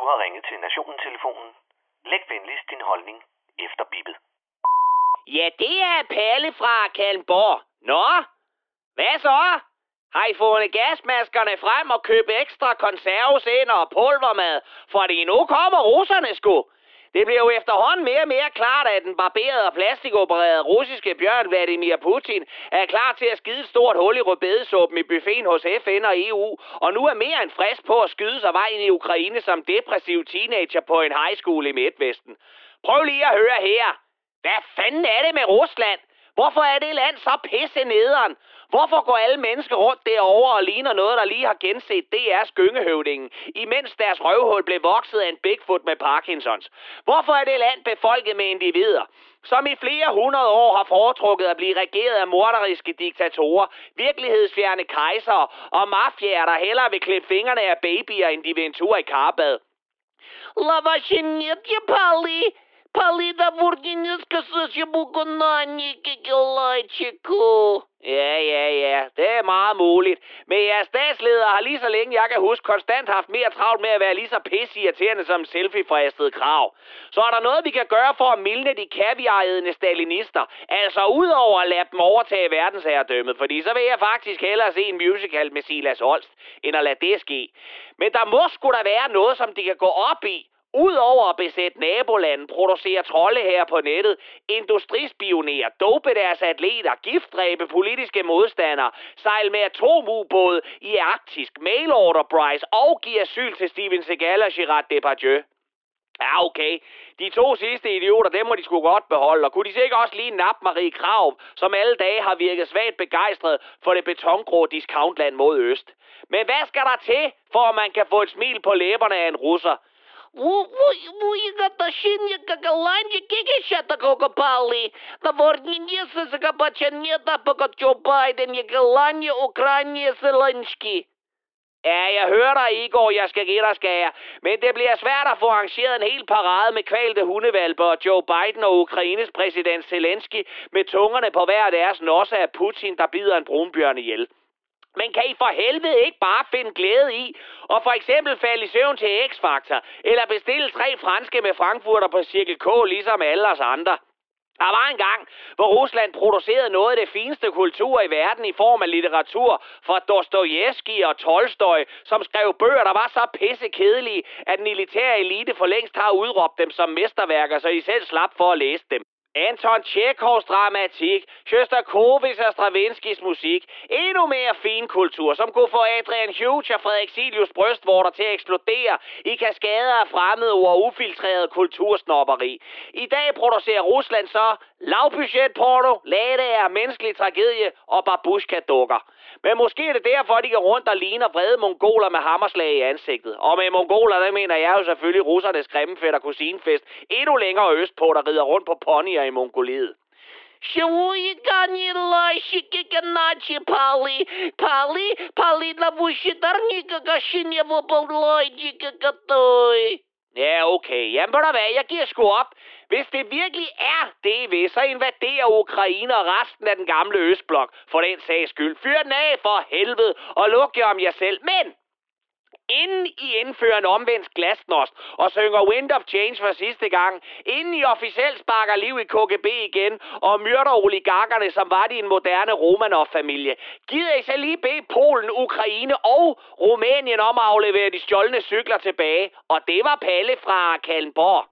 har ringet til Nationen-telefonen. Læg venligst din holdning efter bippet. Ja, det er Palle fra Kalmborg. Nå, hvad så? Har I fundet gasmaskerne frem og købt ekstra konserves ind og pulvermad? Fordi nu kommer russerne sgu. Det bliver jo efterhånden mere og mere klart, at den barberede og plastikopererede russiske bjørn Vladimir Putin er klar til at skide et stort hul i rødbedesuppen i buffeten hos FN og EU, og nu er mere end frisk på at skyde sig vej ind i Ukraine som depressiv teenager på en high school i Midtvesten. Prøv lige at høre her. Hvad fanden er det med Rusland? Hvorfor er det land så pisse nederen? Hvorfor går alle mennesker rundt derovre og ligner noget, der lige har genset DR's Gyngehøvdingen, imens deres røvhul blev vokset af en Bigfoot med Parkinsons? Hvorfor er det land befolket med individer, som i flere hundrede år har foretrukket at blive regeret af morderiske diktatorer, virkelighedsfjerne kejsere og mafiaer, der hellere vil klippe fingrene af babyer, end de vil en tur i karbad? Лавашинет Пали. Пали да вурдинеска сашибукунани кикелайчику. Ja, det er meget muligt. Men jeres statsledere har lige så længe jeg kan huske konstant haft mere travlt med at være lige så pisseirriterende som selfie-fristet krav. Så er der noget, vi kan gøre for at mildne de kaviarædende stalinister. Altså udover at lade dem overtage verdensherredømmet, fordi så vil jeg faktisk hellere se en musical med Silas Holst, end at lade det ske. Men der må sgu da være noget, som de kan gå op i. Udover at besætte nabolanden, producere trolde her på nettet, industrispionere, dope deres atleter, giftdræbe politiske modstandere, sejle med atomubåde i Arktisk, mailorder Bryce og give asyl til Steven Seagal og Gerard Depardieu. Ja, okay. De to sidste idioter, dem må de sgu godt beholde, og kunne de sikkert også lige nappe Marie Krarup, som alle dage har virket svagt begejstret for det betongrå discountland mod øst. Men hvad skal der til, for at man kan få et smil på læberne af en russer? Уигаташинья какаланья кикищата кокопали. Да ворнинеса закапачанета пока Joe Biden якаланья Ukraine Zelensky. Ja, jeg hører dig, Igor, jeg skal give dig skære. Men det bliver svært at få arrangeret en hel parade med kvalte hundevalper og Joe Biden og Ukraines præsident Zelensky med tungerne på hver deres nosse af Putin, der bider en brunbjørn ihjel. Men kan I for helvede ikke bare finde glæde i og for eksempel falde i søvn til X-Factor, eller bestille 3 franske med frankfurter på Cirkel K, ligesom alle os andre? Der var en gang, hvor Rusland producerede noget af det fineste kultur i verden i form af litteratur fra Dostojevskij og Tolstoj, som skrev bøger, der var så pissekedelige, at den elitære elite for længst har udråbt dem som mesterværker, så de selv slap for at læse dem. Anton Tjekhovs dramatik, Sjostakovitjs og Stravinskys musik, endnu mere fin kultur, som kunne få Adrian Hughes og Frederik Silius brystvorter til at eksplodere i kaskader af fremmede ord og ufiltreret kultursnobberi. I dag producerer Rusland så lavbudgetporno, ladager, menneskelig tragedie og babushka-dukker. Men måske er det derfor, de går rundt og ligner vrede mongoler med hammerslag i ansigtet. Og med mongoler, der mener jeg jo selvfølgelig russernes grimmefætter kusinefest endnu længere østpå, der rider rundt på ponyer i Mongoliet. Ja, okay. Jamen, ved du hvad, jeg giver sgu op. Hvis det virkelig er det, I vil, så invaderer Ukraine og resten af den gamle Østblok for den sags skyld. Fyr den af for helvede og luk jer om jer selv. Men inden I indfører en omvendt glasnost og synger Wind of Change for sidste gang, inden I officielt sparker liv i KGB igen og myrder oligarkerne, som var de en moderne Romanov-familie, gider I så lige bede Polen, Ukraine og Rumænien om at aflevere de stjålne cykler tilbage. Og det var Palle fra Kalmborg.